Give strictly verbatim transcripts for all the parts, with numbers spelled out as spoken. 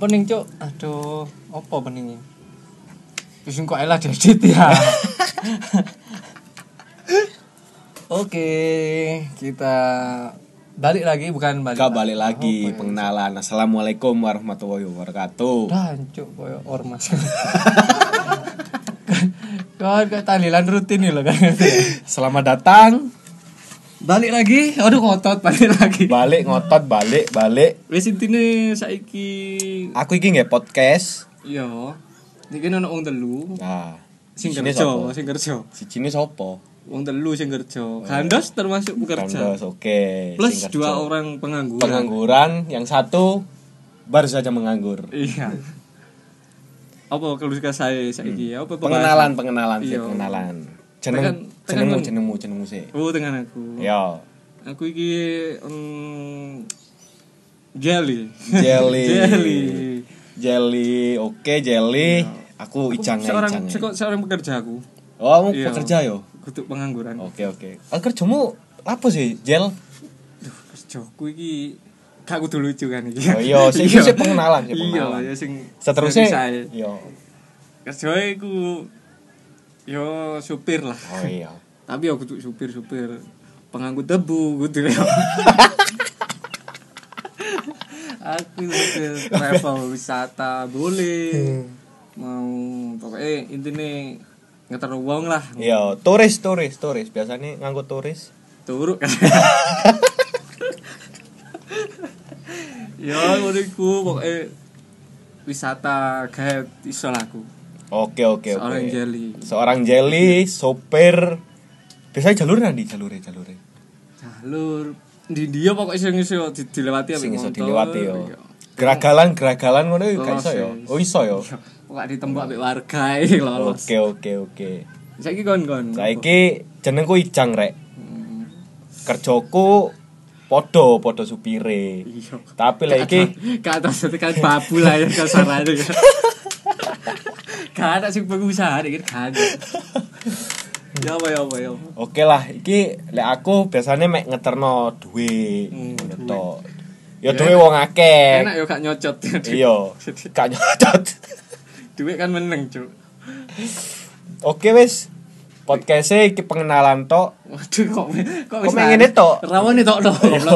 Opening cuk. Aduh, apa opening? Wis kok elah diedit ya. Oke, kita balik lagi bukan balik. Gak balik lagi, oh, pengenalan. Assalamualaikum warahmatullahi wabarakatuh. Dan cuk koyo ormas. Kan kayak tahlilan rutin nih loh kan. Selamat datang. Balik lagi, aduh ngotot balik lagi. Balik ngotot, balik, balik. Wis intine saiki Aku iki nggih podcast. iya. Iki ono wong telu. Nah, Sing sini kerja, sopo? sing kerja. Sijine sapa? Wong telu sing kerja. Gandos termasuk pekerja. Kandos, oke. Plus Sing kerja. dua orang pengangguran. Pengangguran, yang satu baru saja menganggur. Iya. Apa kalau suka saya saiki ya? Apa Pengenalan, pengenalan, sih, Iya. pengenalan. Jeneng, Tekan- tekan jenengmu, kon. jenengmu, jenengmu sih. Oh, dengan aku. Yo, Aku iki um, jelly. jelly. Jelly. Jelly, oke jelly. Aku icang seorang icang. seko- seorang pekerja aku. Oh, kamu Iya. pekerja yo. Kutuk pengangguran. Oke oke. Ah, kerjamu apa sih, Jel? Duh, kerjaku iki gak kudu lucu kan iki. Oh iya, sing iki sih pengenalan, sih Iya, pengenalan. ya sing Seterusnya, saya. yo. Kerjae iku yo supir lah. Oh iya. Tapi yo kudu supir-supir pengangkut debu kudu yo. Aku supir travel wisata boleh. Mau pokoknya intine ngeter wong lah. Iya, turis turis turis. Biasanya ngangkut turis. Turuk kan. Ya ngono iku pokoke wisata gawe iso lah aku. Oke oke oke. Seorang jelly. Seorang jelly, sopir. Biasanya jalur nanti jalure jalure. Jalur di dia pokoknya sing iso di- dilewati ambek Sing iso motor. dilewati yo. Iya. Geragalan geragalan ngono yo gak Oh, iso yo. sis. Oh iso yo. Pokoknya ditembak ambek warga iki lolos. Oke oke oke. Saiki kon-kon. Saiki jenengku Ijang rek. Hmm, Kerjoku podo podo supire. Iya. Tapi lek iki Ke atas itu kan babu lah ya kasarannya ya. Gak ada sih pengusaha deh kan. Ya apa ya apa ya. apa. oke lah, iki lek aku biasanya mek ngeterno duit, Hmm, ngetok. Ya, Ya duit wong akeh. Enak ya gak nyocot. Iya, gak nyodot. Duit kan meneng, Cuk. Oke wis. Podcast-e iki pengenalan tok. Waduh kok kok Kok mek ngene tok? Rawan tok tok. Iya.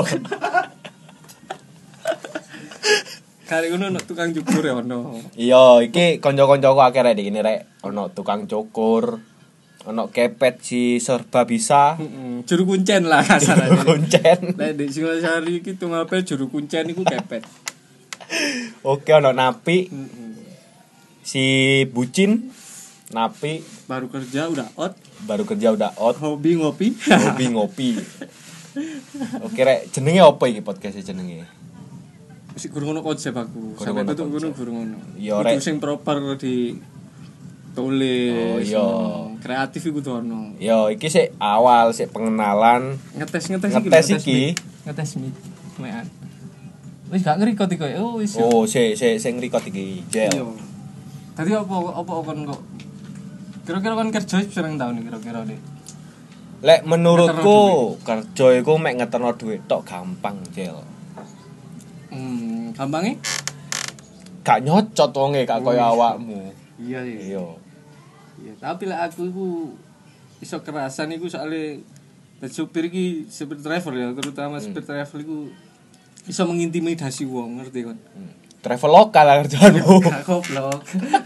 Kali ngono ono tukang cukur ya ono. Iya, iki kanca-kancaku akeh rek iki rek. Ono tukang cukur, ono kepet si serba bisa. Heeh, juru kuncen lah kasarane. Kuncen. Lah di Singosari iki tunggal pel juru kuncen iku kepet. Oke, ono napi Heeh. si bucin. Napi Baru kerja udah out, baru kerja udah out. hobi ngopi. Ngopi ngopi. Oke rek, jenenge apa iki podcast jenenge? Wis gurung ono konsep aku. Gurung Sampai ono tutup konsep. gunung gurung ono. Iya, Kudu Rek. sing proper di tulis. Oh, iya. ono. Kreatif iku kudu ono. Yo, iki sik awal sik pengenalan. Ngetes-ngetes Ngetes lho, iki. mic. Ngetes mic. Mean. Wis gak ngerekod iki. Oh, wis. Oh, sik sik sing record iki. Iya. Jel. Tadi apa apa kon kok kira-kira kon kerja pirang tahun kira-kira deh. Lek menurutku kerja iku mek ngeterno duit tok gampang, Jel. Hmm, gampangnya? Gak nyocot wonge gak Oh, koyo iya. awakmu. Iya iya. Iya. Iya, tapi lah aku iku iso kerasan iku soalnya dan supir iki supir driver ya, terutama supir travel iku iso mengintimidasi wong, ngerti kan? Hmm. Travel lokal lah kerjaanmu. Gak goblok.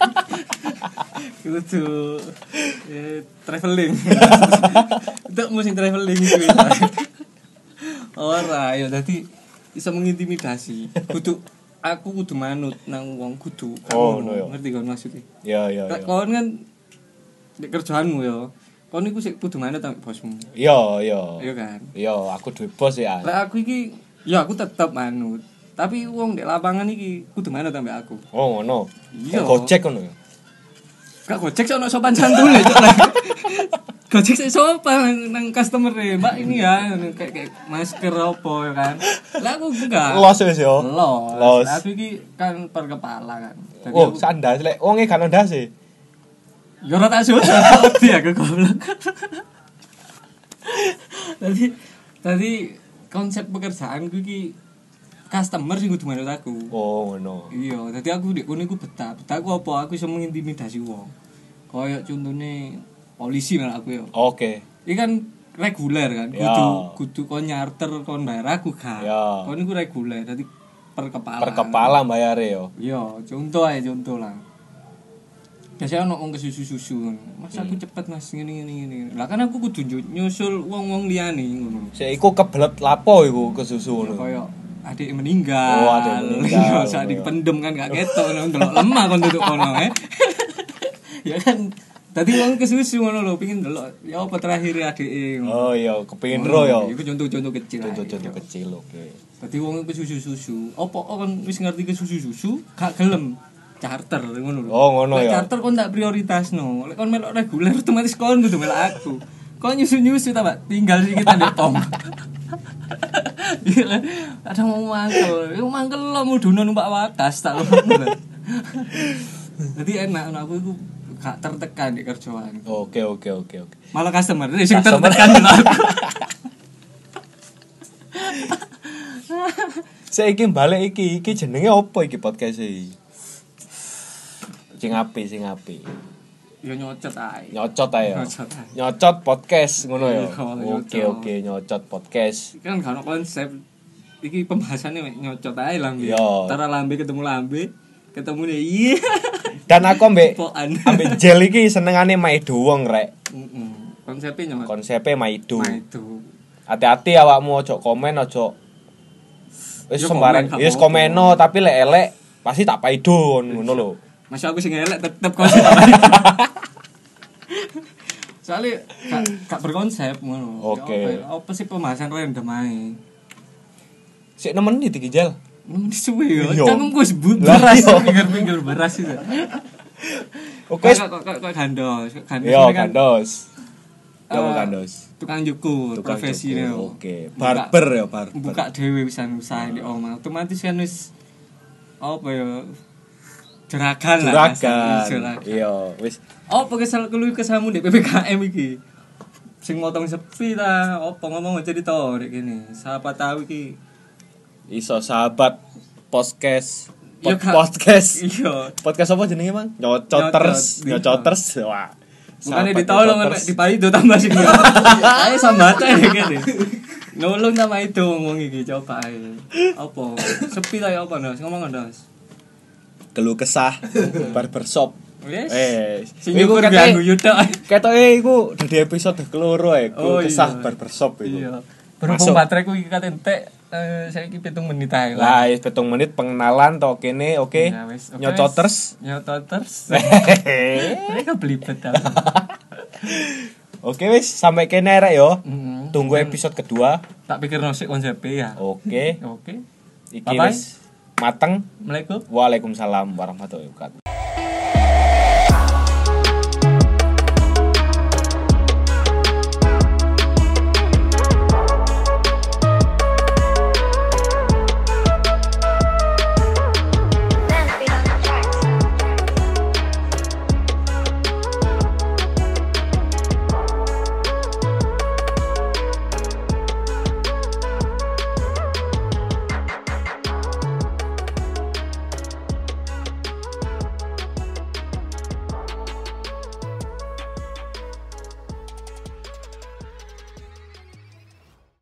Kudu eh, traveling. Itu musim traveling itu. Ora, ya dadi iso mengintimidasi. Kudu aku kudu manut nang wong kudu. Oh, Kamu no, ya. ngerti kan maksudnya? Iya iya Lek iya. kon kan di kerjaanmu ya. Kon iku sik kudu manut nang bosmu. Iya iya. Iya kan? Iya, aku duwe bos ya. Lek aku iki ya aku tetep manut. Tapi wong di lapangan iki kudu manut sampe aku. Oh, ngono. Iya. Kayak Gojek ngono ya. Gak Gojek sih ono sopan santun ya, Cuk. Gojek sih sopan nang customer e, Mbak ini ya kayak kayak masker apa ya kan. Lah aku enggak. Los wis yo. Los. Los. Tapi iki kan per kepala kan. Jadi Oh, aku- sandas lek wonge gak ndase. Yo ora tak susah dia aku goblok. Tadi tadi konsep pekerjaan gue iki customer sing kudu manut aku. Oh, ngono. Iya, dadi aku ndek kono iku betah. Betah aku apa? Aku iso mengintimidasi wong. Kayak contone polisi malah aku ya. Oke. Iki kan reguler kan, Ya. kudu kudu kon nyarter kon bayar aku gak. Ya. Kon iku reguler, dadi per kepala. Per kepala bayare yo. Iya, contoh ae contoh lah. Biasanya ono wong kesusu-susu ngono. Mas aku cepet Mas ngene ngene ngene. Lah kan aku kudu nyusul wong-wong liyane ngono. Sik iku kebelet lapo iku kesusu ngono. Kaya adik meninggal. Oh, adik meninggal. Iya, saat dipendem kan gak ketok ngono delok lemah kon duduk kono eh. Ya kan tadi wong kesusu ngono lho pengin delok ya apa terakhir adike. Oh iya, kepengin ro yo. Iku contoh-contoh kecil. Contoh-contoh kecil oke. Dadi wong kesusu-susu. Apa kon wis ngerti kesusu-susu gak gelem charter ngono lho. Oh, ngono Lek ya. charter kon tak prioritasno. Lek kon melok reguler otomatis kon kudu melok aku. Kon nyusu-nyusu ta, Pak. Tinggal sih kita ndek pom. Iya kan. Kadang mau mangkel. Yo mangkel lo mudono numpak wakas tak ngono. Jadi enak aku iku gak tertekan di kerjaan. Oke oke oke oke. Malah customer sing tertekan lho aku. Saiki balik iki, iki jenenge opo iki podcast iki? Sing apik, sing apik. Yo nyocot ae. Nyocot ae. Nyocot ae. Nyocot podcast ngono ya. Iya, Oke nyocot. oke nyocot podcast. Kan gak ono konsep iki pembahasannya mek nyocot ae lambe. Iya. Tara lambe ketemu lambe, ketemu nih iya. Dan aku ambek Pokan. ambek gel iki senengane maido wong rek. Heeh. Konsepnya nyocot. Konsepnya maido. Nah itu. Hati-hati awakmu ojo komen ojo wis Ya, sembarang komen, wis gak apa-apa. komeno tapi lek elek pasti tak paido ngono lho. Masa aku sing elek tetep konsep. Soalnya gak, gak berkonsep ngono. Oke. Ya Apa, apa sih pembahasan random ae. Sik nemen iki gel. Nemen suwe yo. Iya. Cangkemku wis but Lah, beras, iya. pinggir-pinggir beras itu. Oke. Kok kok kok gandos. Gandos Yo ini kan, kandos. Yo eh, kandos. tukang cukur, Tukang profesi cukur, ne. Oke. Barber ya, barber. Buka dhewe wisan usaha di omah. Otomatis kan wis apa ya juragan lah. Juragan. Juragan. Iya, wis Apa kesal keluh kesamu di P P K M iki? Sing motong sepi ta, apa ngomong cerita rek kene. Siapa tahu iki. iso sahabat podcast Iya, pod- Kak. podcast. Iya. Podcast apa jenenge, Bang? Nyocoters, Nyocot. nyocoters. Wah. Bukannya Sahabat ditolong nyocoters. nek dipaido tambah sing. Ayo sambata ya kene. Nolong sama itu ngomong iki coba ae. Apa? Sepi ta ya apa Ndas? Ngomong Ndas. Keluh kesah barbershop. Wes. Eh, Sing iku nyukur ketoke- ganggu yudak. Ketoke iku dadi episode keloro ya, Oh, keluh kesah iya. barbershop iku. Iya. Berhubung Masuk. bateraiku iki kate entek, eh saiki pitung menit ae lah. Lah, wis pitung menit pengenalan to kene, oke. Ya, wes. Oke, Nyocoters. wes. Nyocoters. Mereka belibet ta. Oke wis, sampai kene rek yo. Mm. Tunggu episode kedua. Tak pikir nosik konsepnya ya. Oke. Oke. Iki Bye-bye. wis mateng. Assalamualaikum. Waalaikumsalam warahmatullahi wabarakatuh.